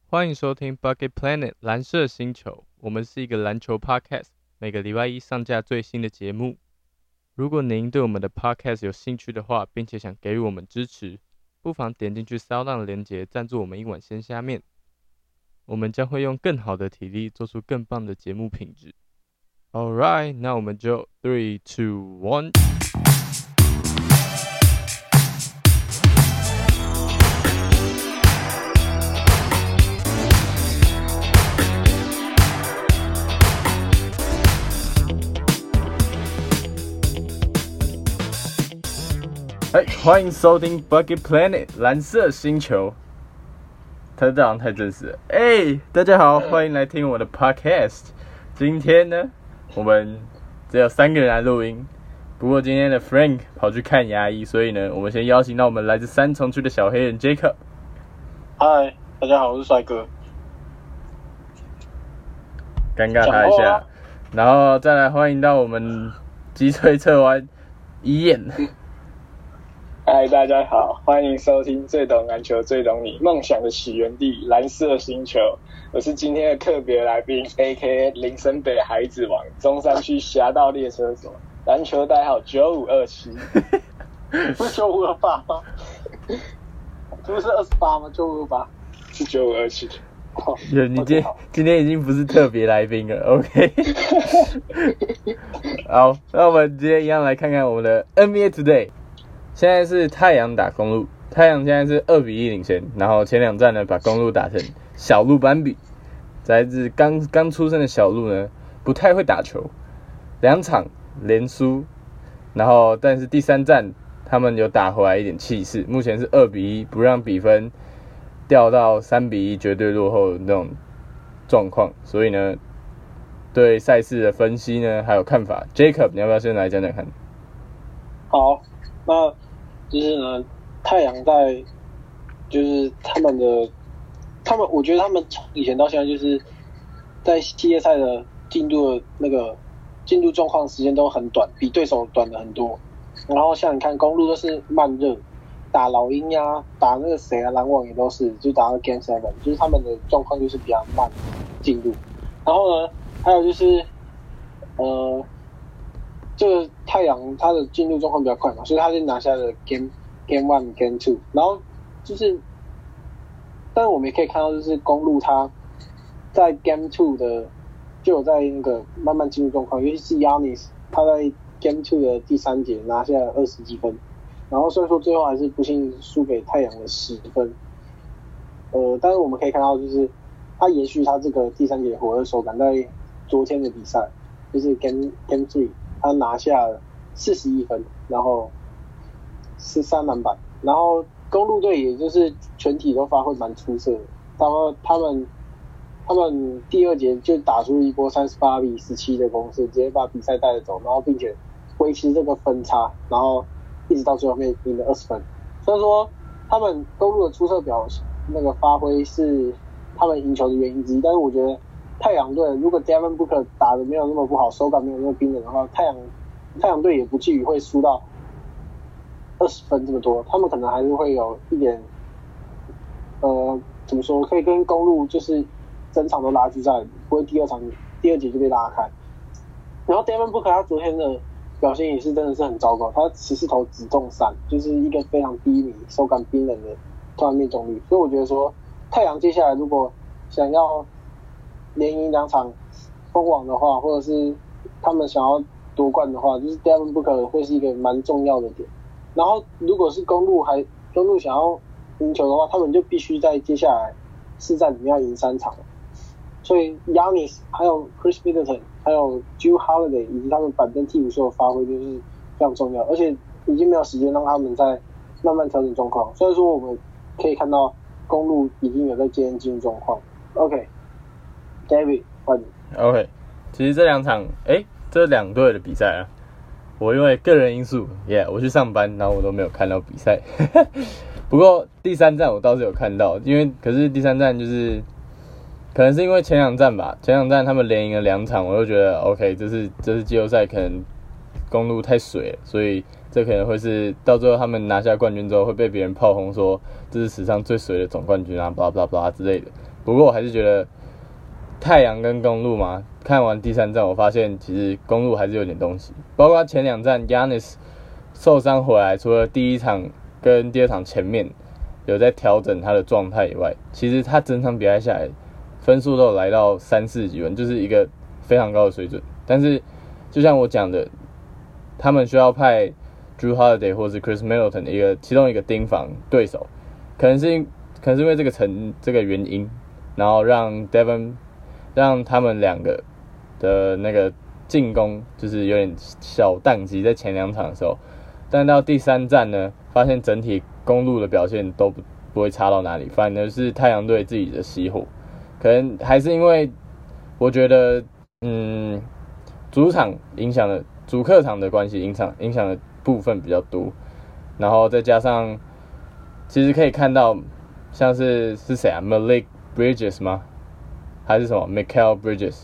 欢迎收听 Bucket Planet 蓝色星球，我们是一个篮球 podcast， 每个礼拜一上架最新的节目。如果您对我们的 podcast 有兴趣的话，并且想给予我们支持，不妨点进去SoundOn的连结，赞助我们一碗鲜虾面。我们将会用更好的体力做出更棒的节目品质。Alright， 那我们就3、2、1。欢迎收听 Bucket Planet 蓝色星球。他这样太正式了。大家好，欢迎来听我的 podcast。今天呢，我们只有3个人来录音。不过今天的 Frank 跑去看牙医，所以呢，我们先邀请到我们来自三重区的小黑人 Jacob。 嗨，大家好，我是帅哥。 尴尬他一下，然后再来欢迎到我们击锤侧弯一燕。 嗨，大家好，欢迎收听最懂篮球、最懂你梦想的起源地——蓝色星球。我是今天的特别来宾 ，A.K.A. 林森北孩子王，中山区侠盗猎车手，篮球代号9527。不是9528吗？不是28吗？9528是9527。 你今天已经不是特别来宾了 ，OK？ 好，那我们今天一样来看看我们的 NBA Today。现在是太阳打公鹿，太阳现在是2-1领先，然后前2战呢把公鹿打成小鹿斑比。来自刚出生的小鹿呢，不太会打球，2场连输，然后但是第3战他们有打回来一点气势，目前是2-1，不让比分掉到3-1绝对落后的那种状况，所以呢，对赛事的分析呢还有看法 ，Jacob 你要不要先来讲讲看？ 好，那就是呢，太阳在就是他们，我觉得他们从以前到现在就是在系列赛的进度状况时间都很短，比对手短了很多。然后像你看公鹿都是慢热，打老鹰呀，打那个谁啊，篮网也都是，就打到 Game 7，就是他们的状况就是比较慢进入。然后呢，还有就是这个太阳它的进入状况比较快嘛，所以他就拿下了 Game 1、Game 2，然后就是，但是我们也可以看到，就是公鹿他在 Game 2的就有在那个慢慢进入状况，尤其是 Giannis 他在 Game 2的第3节拿下了20几分，然后虽然说最后还是不幸输给太阳的10分，但是我们可以看到，就是他延续他这个第3节火热手感，在昨天的比赛就是 Game 3。他拿下了41分，然后13篮板，然后公鹿队也就是全体都发挥蛮出色的。他们第2节就打出一波38-17的攻势，直接把比赛带着走，然后并且维持这个分差，然后一直到最后面赢了20分。所以说他们公鹿的出色发挥是他们赢球的原因之一，但是我觉得太阳队如果 Devin Booker 打得没有那么不好，手感没有那么冰冷的话，太阳队也不至于会输到20分这么多，他们可能还是会有一点怎么说，可以跟公鹿就是整场都拉锯战，不会第二节就被拉开。然后 Devin Booker 他昨天的表现也是真的是很糟糕，他14投只中3，就是一个非常低迷、手感冰冷的投篮命中率。所以我觉得说，太阳接下来如果想要连赢2场封王的话，或者是他们想要夺冠的话，就是 Devin Booker 会是一个蛮重要的点。然后如果是公鹿想要赢球的话，他们就必须在接下来4战里面要赢3场。所以 Giannis 还有 Chris Middleton 还有 Jrue Holiday 以及他们板凳替补所有发挥就是非常重要，而且已经没有时间让他们在慢慢调整状况。虽然说我们可以看到公鹿已经有在接近进入状况。OK。David， 换你。 OK， 其实这2场，这2队的比赛啊，我因为个人因素，我去上班，然后我都没有看到比赛。不过第3战我倒是有看到，可是第3战就是可能是因为前2战吧，前2战他们连赢了2场，我就觉得 OK， 这是季后赛可能公鹿太水了，所以这可能会是到最后他们拿下冠军之后会被别人炮轰说这是史上最水的总冠军啊，blah blah blah之类的。 不过我还是觉得太阳跟公鹿嘛，看完第3战，我发现其实公鹿还是有点东西，包括前2战 Giannis 受伤回来，除了第1场跟第2场前面有在调整他的状态以外，其实他整场比赛下来分数都有来到30几分，就是一个非常高的水准。但是就像我讲的，他们需要派 Drew Holiday 或是 Chris Middleton 的其中一个盯防对手，可能是因为这个原因，然后让他们2个的那个进攻就是有点小宕机在前2场的时候，但到第3战呢，发现整体公鹿的表现都不会差到哪里，反而是太阳队自己的熄火，可能还是因为我觉得主客场的关系影响的部分比较多，然后再加上其实可以看到像是谁啊 Malik Bridges 吗？还是什么 Mikal Bridges？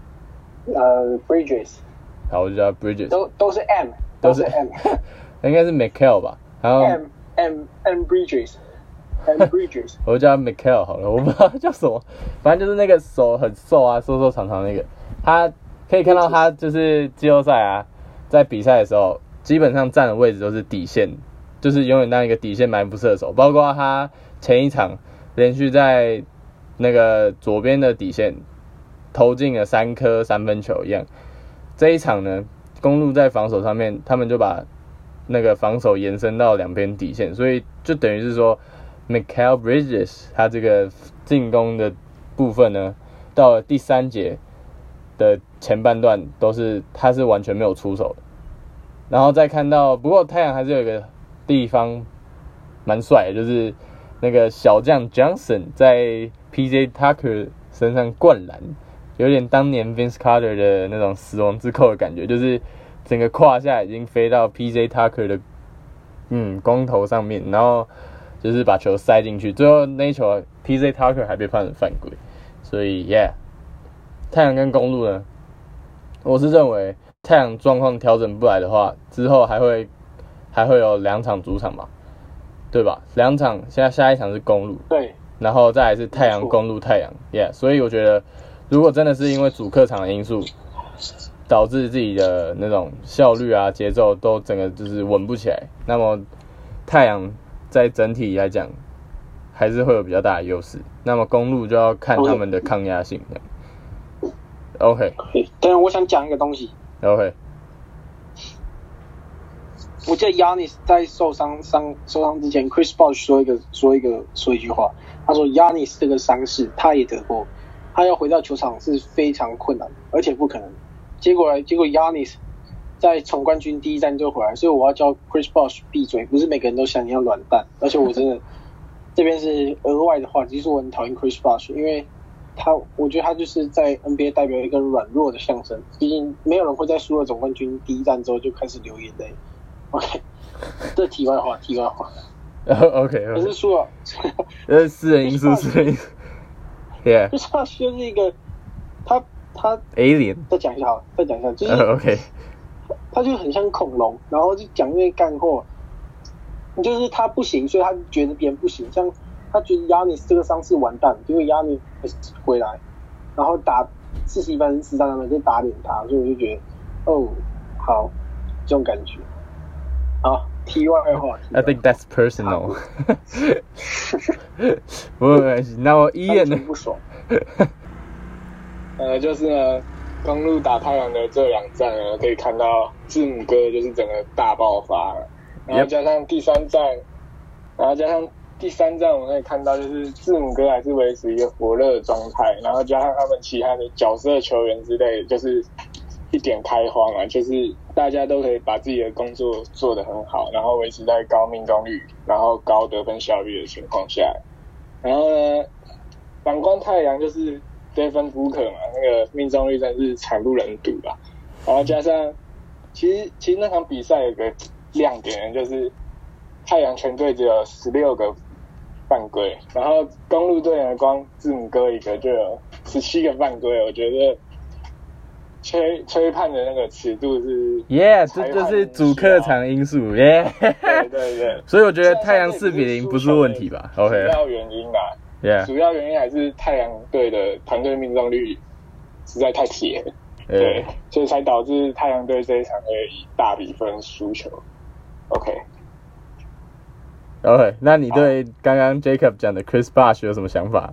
Bridges。 好，我就叫 Bridges。 都是 M。都是 M。 应该是 Mikal 吧？然后 M Bridges。 我就叫 Mikal 好了，我不知道叫什么，反正就是那个手很瘦啊，瘦长那个。他可以看到他就是季后赛啊，在比赛的时候，基本上站的位置都是底线，就是永远当一个底线埋伏射手，包括他前一场连续在那个左边的底线投进了3颗3分球一样。这一场呢，公鹿在防守上面，他们就把那个防守延伸到2边底线，所以就等于是说 Mikal Bridges 他这个进攻的部分呢，到了第3节的前半段他是完全没有出手的。然后再看到，不过太阳还是有一个地方蛮帅的，就是那个小将 Johnson 在 PJ Tucker 身上灌篮，有点当年 Vince Carter 的那种死亡之扣的感觉，就是整个胯下已经飞到 PJ Tucker 的光头上面，然后就是把球塞进去，最后那一球 PJ Tucker 还被判成犯规，所以 yeah， 太阳跟公鹿呢，我是认为太阳状况调整不来的话，之后还会有2场主场嘛，对吧？2场，现在下一场是公鹿， 对， 然后再来是太阳公鹿太阳 ，yeah， 所以我觉得如果真的是因为主客场的因素，导致自己的那种效率啊、节奏都整个就是稳不起来，那么太阳在整体来讲还是会有比较大的优势。那么公鹿就要看他们的抗压性。OK。 但是我想讲一个东西。 OK。 我记得 Giannis 在受伤之前 ，Chris Bosh 说一句话，他说 Giannis 这个伤势他也得过，他要回到球场是非常困难，而且不可能。结果 Giannis 在总冠军第1战就回来，所以我要叫 Chris Bosh 闭嘴，不是每个人都像你一样软蛋。而且我真的这边是额外的话，其实我很讨厌 Chris Bosh， 因为我觉得他就是在 NBA 代表一个软弱的象征。毕竟没有人会在输了总冠军第1战之后就开始流眼泪。OK， 这题外话。 OK， 可是输了， 这是私人因素。Yeah， 就是他就是一个他 Alien。 再讲一下，就是、 OK， 他就很像恐龙，然后就讲那些干货。就是他不行，所以他觉得别人不行。像他觉得 Giannis 这个伤势完蛋，结果 Giannis 回来，然后打41分13分就打脸他，所以我就觉得好，这种感觉。好，题外话。 I think that's personal。不过没关系，那我Ian呢？ 不爽。 就是呢，公鹿打太阳的这2战呢，可以看到字母哥就是整个大爆发了，然后加上第3战，我们可以看到就是字母哥还是维持一个火热的状态，然后加上他们其他的角色球员之类的，就是一点开花嘛，就是大家都可以把自己的工作做得很好，然后维持在高命中率，然后高得分效率的情况下，然后呢，反观太阳就是Devin Booker 嘛，那个命中率真是惨不忍睹吧。然后加上，其实那场比赛有个亮点，就是太阳全队只有16个犯规，然后公鹿队呢光字母哥一个就有17个犯规，我觉得吹判的那个尺度是 ，Yeah， 这就是主客场因素 ，Yeah， 对， 所以我觉得太阳4-0不是问题吧 ？OK， 主要原因啦。 ，Yeah， 主要原因还是太阳队的团队命中率实在太铁了，对，所以才导致太阳队这一场会以大比分输球。OK， 那你对刚刚 Jacob 讲的 Chris Bosh 有什么想法？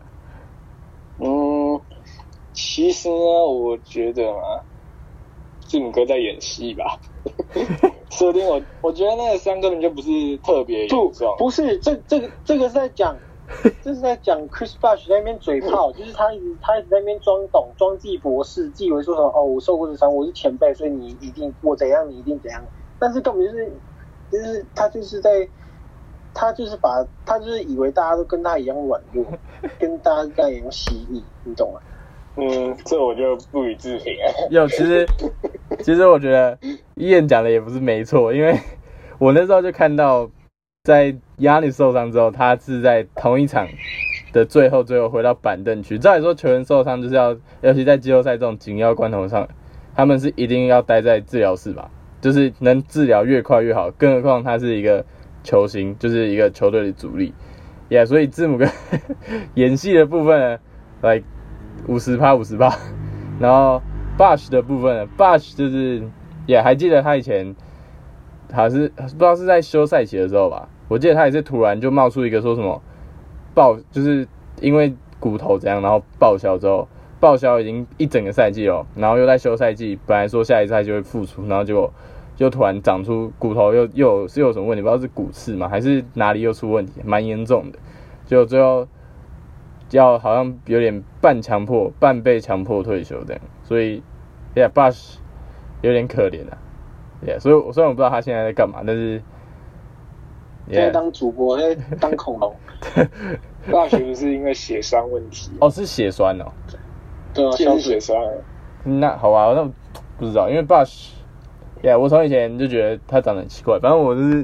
其实呢，我觉得嘛，字母哥在演戏吧。设定我觉得那个伤根本就不是特别严重， 不是这个是在讲，这是在讲 Chris Bosh 在那边嘴炮，就是他一直在那边装懂，装自己博士，自以为说什么我受过这伤，我是前辈，所以你一定我怎样，你一定怎样，但是根本就是他就是以为大家都跟他一样软弱，跟大家一样蜥蜴，你懂吗？ 这我就不予置评了。 有，其实我觉得Ian讲的也不是没错，因为我那时候就看到，在 Giannis 受伤之后，他是在同一场的最后回到板凳区。照理说，球员受伤就是要，尤其在季后赛这种紧要关头上，他们是一定要待在治疗室吧，就是能治疗越快越好。更何况他是一个球星，就是一个球队的主力。所以字母哥演戏的部分呢，like 50%，然后 Bosh 的部分呢 ，Bosh 就是还记得他以前他是不知道是在休赛期的时候吧，我记得他也是突然就冒出一个说什么就是因为骨头怎样，然后报销之后，报销已经一整个赛季了，然后又在休赛季，本来说下一赛就会复出，然后结果就突然长出骨头又有什么问题，不知道是骨刺嘛还是哪里又出问题，蛮严重的，结果最后要好像有点半被强迫退休这样，所以Bosh 有点可怜啊。所以虽然我不知道他现在在干嘛，但是现在当主播，现在当恐龙。 Bosh 不是因为血栓问题？ 是血栓哦。 对啊， 是血栓。 那好吧，那不知道，因为 Bosh，我从以前就觉得他长得很奇怪，反正我就是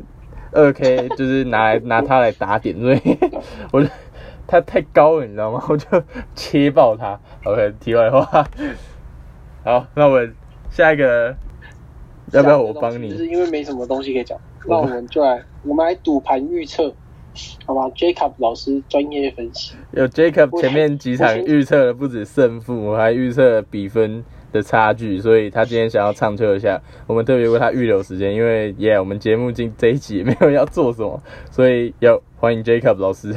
2K 就是拿他来打点，所以我就他太高了，你知道吗？我就切爆他。OK， 题外话。好，那我下一个要不要我帮你？ 就是因为没什么东西可以讲，那我们来赌盘预测，好吧 ？Jacob 老师专业分析。 有 Jacob 前面几场预测了不止胜负，我还预测了比分的差距，所以他今天想要唱秋一下，我们特别为他预留时间，因为我们节目这一集也没有要做什么，所以欢迎 Jacob 老师。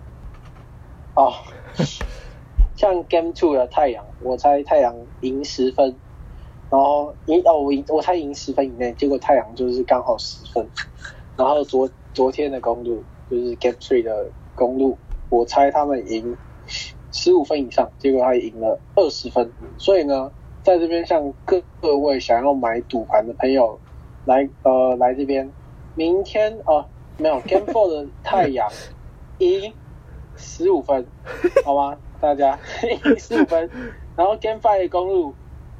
像 Game 2的太阳，我猜太阳赢10分，然后我猜赢10分以内，结果太阳就是刚好10分，然后昨天的公路就是 Game 3的公路，我猜他们赢15分以上，结果他赢了20分，所以呢，在这边向各位想要买赌盘的朋友来这边，明天没有 Game 4的太阳赢15分，好吗？大家赢15分，然后 Game 5的公路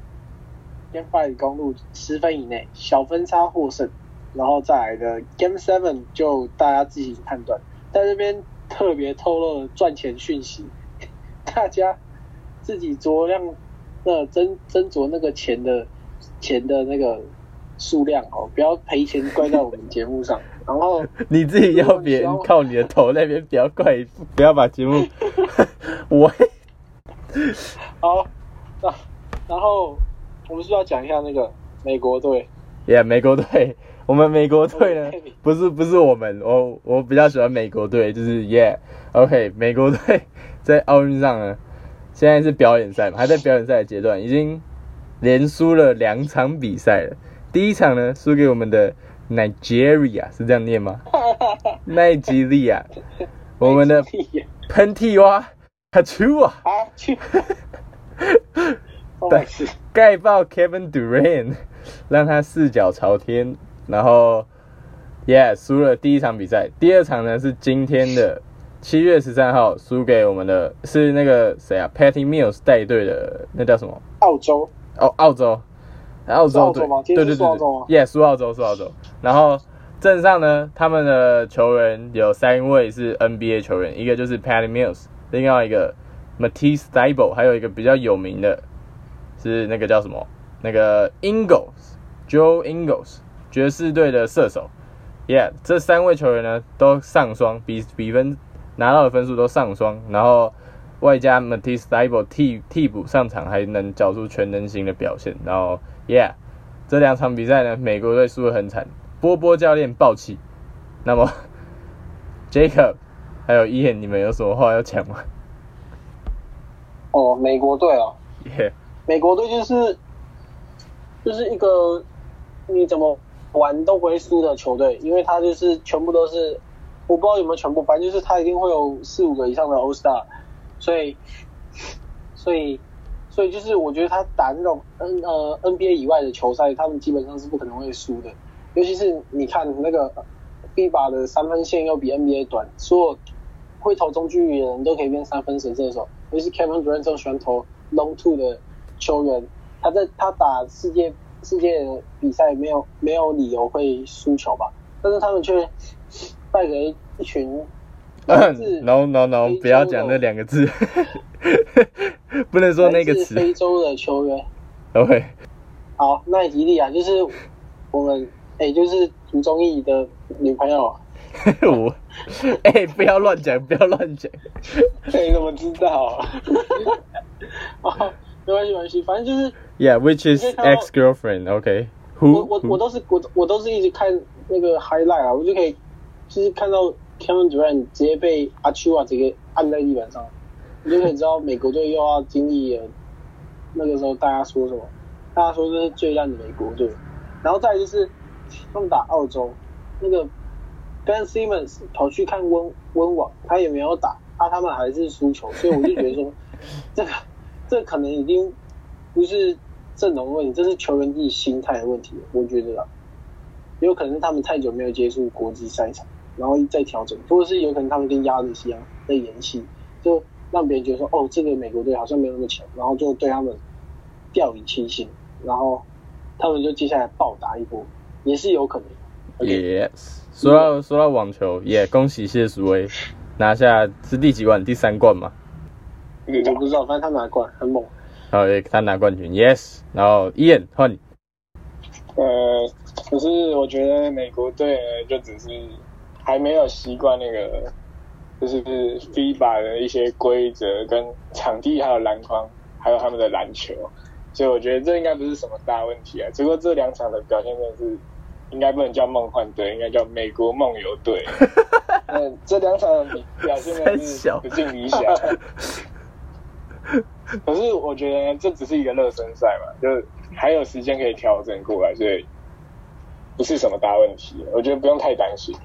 10分以内，小分差获胜，然后再来的 Game 7就大家自行判断。在这边特别透露赚钱讯息，大家自己酌量斟酌那个钱的那个数量不要赔钱怪在我们节目上。然后你自己要别人靠你的头那边，不要把节目好，然后我们是要讲一下那个美国队。 美国队，我们美国队呢，不是我们，我比较喜欢美国队，就是OK， 美国队在奥运上呢，现在是表演赛嘛，还在表演赛的阶段，已经连输了2场比赛了。第一场呢，输给我们的 Nigeria， 是这样念吗？奈及利亚，我们的喷嚏蛙哈丘啊，盖爆 Kevin Durant， 让他4脚朝天，然后输了第一场比赛。第二场呢是今天的7月13号，输给我们的是那个谁啊 ，Patty Mills 带队的，那叫什么？ 澳洲队，对，输澳洲。然后阵上呢，他们的球员有3位是 NBA 球员，一个就是 Patty Mills， 另外一个 Matisse Thybulle， 还有一个比较有名的是那个叫什么？那个 Joe Ingles， 爵士队的射手。这3位球员呢都上双，比分拿到的分数都上双，然后外加 Matisse Thybulle 替补上场还能缴出全能型的表现，然后 Yeah， 这2场比赛呢，美国队输得很惨，波波教练爆气。那么 Jacob 还有 Ian， 你们有什么话要讲吗？ 哦，美国队哦， Yeah， 美国队就是一个你怎么玩都不会输的球队，因为他就是全部都是，我不知道有没有全部，反正就是他一定会有4-5个以上的 All Star， 所以就是我觉得他打那种NBA 以外的球赛，他们基本上是不可能会输的，尤其是你看那个 FIBA 的3分线又比 NBA 短，所有会投中距离的人都可以变3分神射手，尤其是 Kevin Durant 这种喜欢投 long two 的球员，他打世界的比赛没有理由会输球吧？但是他们却败给一群 No， 不要讲那2个字，不能说那个词。 非洲的球员。 OK。 好，奈及利亚就是我们就是涂宗义的女朋友。 我不要乱讲，不要乱讲。 你怎么知道？没关系，反正就是 Yeah，which is ex-girlfriend，OK。 我都是一直看那个 highlight 啊，我就可以就是看到 Kevin Durant 直接被阿丘啊直接按在地板上，你就可以知道美国队又要经历了那个时候大家说什么，大家说这是最烂的美国队，然后再来就是他们打澳洲，那个 Ben Simmons 跑去看温网，他也没有打，他们还是输球，所以我就觉得说这可能已经不是阵容的问题，这是球员自己心态的问题，我觉得啦，有可能是他们太久没有接触国际赛场，然后再调整，或者是有可能他们跟亚德西一样在演戏，就让别人觉得说这个美国队好像没有那么强，然后就对他们掉以轻心，然后他们就接下来暴打一波，也是有可能。 Yes， 说到网球，也恭喜谢淑薇拿下是第几冠？第3冠吗？ 我不知道，反正他拿冠，很猛。 好，他拿冠军 ，Yes。然后 Ian 换你。 可是我觉得美国队呢，就只是还没有习惯那个，就是 FIBA 的一些规则跟场地，还有篮筐，还有他们的篮球，所以我觉得这应该不是什么大问题啊。只不过这2场的表现真的是，应该不能叫梦幻队，应该叫美国梦游队。这2场的表现真的是不尽理想。可是我觉得这只是一个热身赛嘛，就还有时间可以调整过来，所以不是什么大问题，我觉得不用太担心。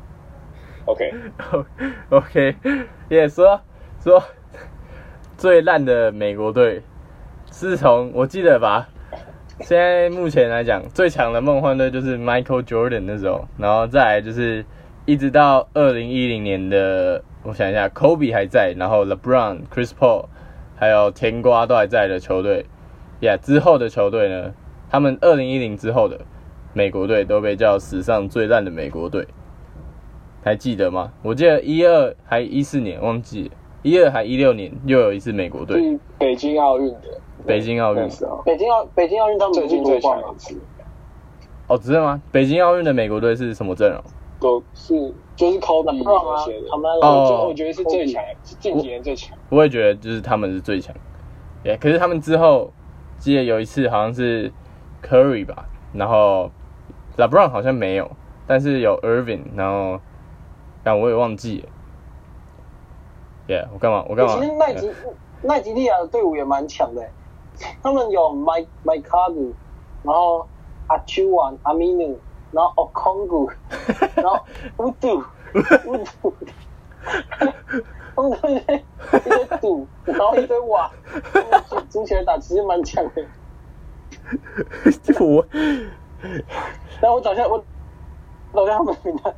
OK， 也说最烂的美国队，自从我记得吧，现在目前来讲最强的梦幻队就是 Michael Jordan 那时候，然后再来就是一直到2010年的，我想一下 ，Kobe 还在，然后 LeBron、Chris Paul 还有甜瓜都还在的球队之后的球队呢，他们2010之后的美国队都被叫史上最烂的美国队，还记得吗？我记得12还14年忘记了，12还16年又有一次美国队， 北京奥运的， 北京奥运他们最近最强一次。 真的吗？北京奥运的美国队是什么阵容？ 就是 Kobe 那些的。我觉得是最强，是近几年最强。 我也觉得就是他们是最强。可是他们之后记得有一次好像是 Curry 吧，然后 LeBron 好像没有，但是有 Irving， 然后但我也忘记了。我干嘛？ 其实奈及利亚的队伍也蛮强的，他们有 Mike Cardu， 然后 Achuan Aminu， 然后 Okongu， 然后 Udu， 他们都一堆赌，然后一堆瓦，组起来打其实蛮强的。然后我找一下他们名单，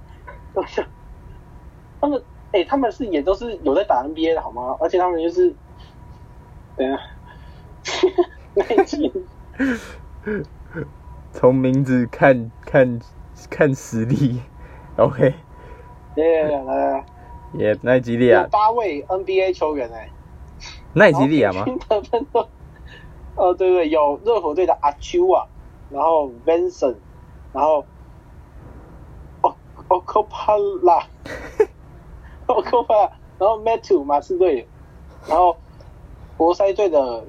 他们也都是有在打 NBA 的好吗？而且他们就是等一下那一集从名字看实力 ，OK。 来， 奈及利亚有8位 NBA 球员奈及利亚吗？ 得分都对，有热火队的阿丘啊，然后 Vincent， 然后Okopala， 然后 Metu 马刺队的，然后活塞队的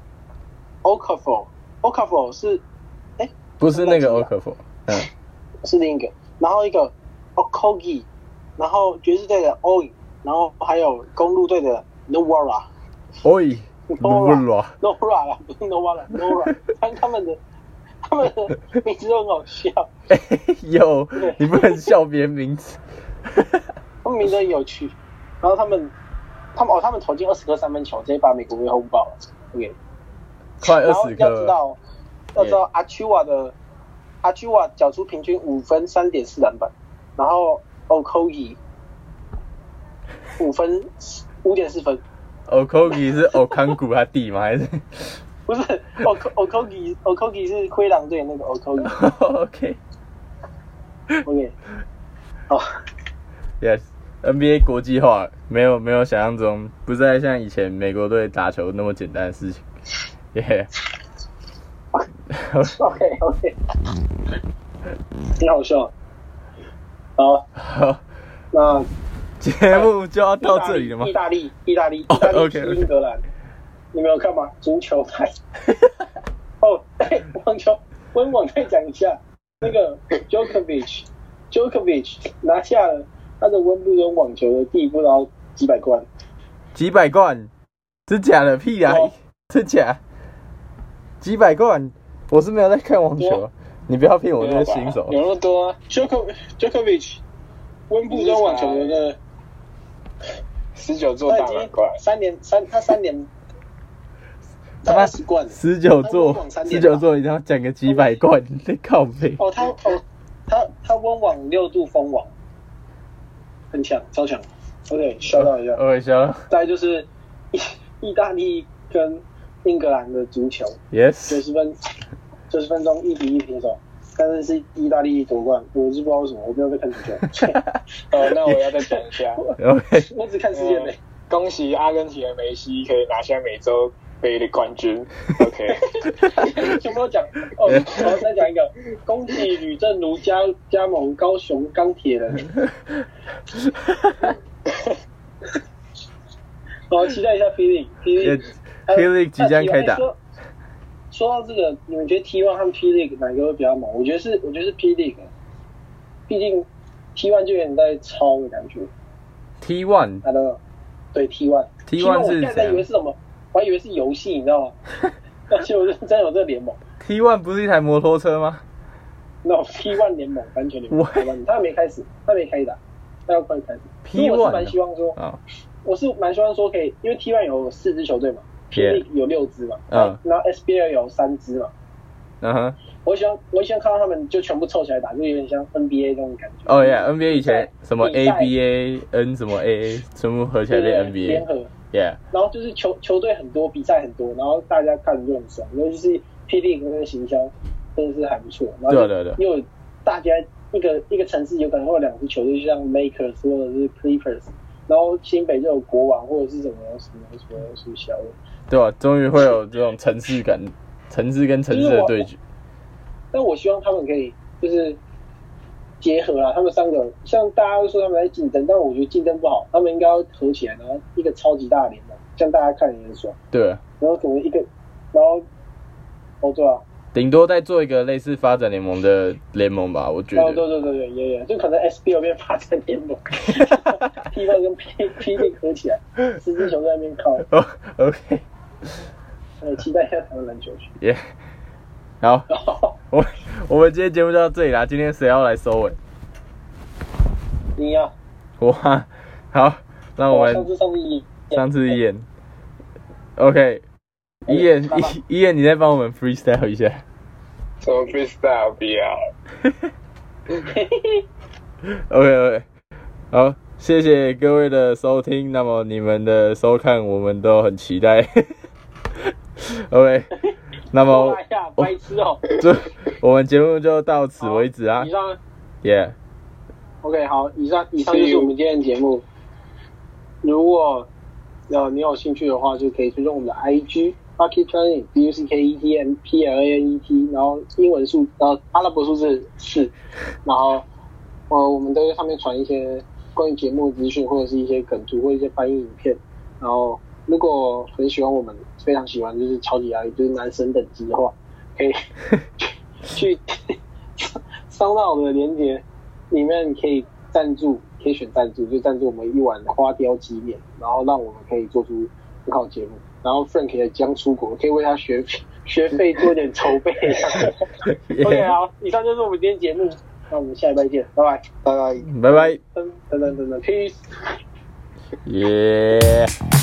Okafor 是不是那个 Okafor， 是另一个，然后一个 Okogie， 然后爵士队的 Oi， 然后还有公路队的 Nowara， Oi， Nowara 啦，不是 Nowara， 他们的名字都很好笑。 有，你不能笑别人名字。 他们名字很有趣，然后他们投进20颗三分球，直接把美国队轰爆了。OK， 快然后 20颗。 要知道阿丘瓦缴出平均5分3.4篮板，然后 Okogie 5分5.4分。 Okogie 是欧康古他弟吗？还是？ 不是 Okogie 是灰狼队那个 Okogie。OK， 哦 ，Yes，NBA 国际化没有想象中，不再像以前美国队打球那么简单的事情。 OK， 挺好笑。好，那节目就要到这里了吗？ 意大利踢英格兰，你没有看吗？足球台。网球温网再讲一下，那个 Djokovic 拿下了他的温布顿网球的第不知道几百冠。 几百冠？真假的？屁啊！真假？几百冠？我是没有在看网球，你不要骗我这个新手。 有那么多啊 ？Djokovic 温布顿网球的那个 19座大满贯 ，3年他80冠 ，19座，一定要讲个几百冠，你在靠背。 他温网6度封网，很强，超强。OK， shout out一下。 OK， shout out。 再来就是意大利跟英格兰的足球 ，Yes， 90分钟1-1平手，但是意大利夺冠，我是不知道为什么，我没有在看足球。 那我要再讲一下。 OK， 我只看世界杯。 恭喜阿根廷的梅西可以拿下美洲杯的冠军。OK， 全部都讲哦，然后再讲一个，恭喜吕正如加盟高雄钢铁人。好，期待一下霹雳即将开打。 说到这个，你们觉得 T1 和 P-League 哪个会比较猛？我觉得是 P-League， 毕竟 T1 就有点在抄的感觉。 T1， 对 T1 是我刚才以为是什么？我还以为是游戏，你知道吗？而且我真有这个联盟。 T1 不是一台摩托车吗 ？No， T1 联盟，完全联盟。他还没开始，他没开打，他要快开始。 P1， 我是蛮希望说，我是蛮希望说可以，因为 T1 有4支球队嘛。P-League 有6支嘛，然后 SBL 有3支嘛，我希望看到他们就全部凑起来打，就有点像 NBA 那种感觉。 哦yeah， NBA 以前什么 ABA、N 什么 AA， 全部合起来变 NBA。 联合。 Yeah。 然后就是球队很多，比赛很多，然后大家看就很爽，尤其是 P-League 那个形象真的是还不错。然后对，又有大家一个城市有可能会有2支球队，就像 Lakers 或者是 Clippers， 然后新北就有国王或者是什么小的。 对吧？终于会有这种城市感，城市跟城市的对决。 但我希望他们可以就是结合啦，他们3个像大家都说他们在竞争，但我觉得竞争不好，他们应该要合起来，然后一个超级大的联盟，这样大家看也很爽。 对。 然后可能然后对啊， 顶多再做一个类似发展联盟的联盟吧，我觉得。 对，也，就可能 SBL 变发展联盟，T1 跟 P-League 合起来，10支球在那边靠。 OK。 期待一下台湾篮球去。 好，我们今天节目就到这里啦。今天谁要来收尾？ 你呀。 我啊。好，那我们上次一眼。OK， 一眼，你再帮我们 freestyle 一下。 什么 freestyle 不要 ？OK， 好，谢谢各位的收听。那么你们的收看，我们都很期待。OK， 那么白痴哦， 我们节目就到此为止啊。 以上 ，Yeah。 OK， 好，以上就是我们今天的节目。如果你有兴趣的话，就可以追踪我们的 IG Bucket Planet BUCKETPLANET， 然后英文数阿拉伯数字4，然后我们都在上面传一些关于节目资讯，或者是一些梗图或一些翻译影片。然后如果很喜欢我们，非常喜欢就是超级压力，就是男神等级的话，可以去烧到我的连结里面，可以赞助，可以选赞助，就赞助我们一碗花雕鸡面，然后让我们可以做出很好的节目。然后 Frank 也将出国，可以为他学费做点筹备。OK， 好，以上就是我们今天节目，那我们下礼拜见，拜拜， 拜拜， 等，peace。 耶。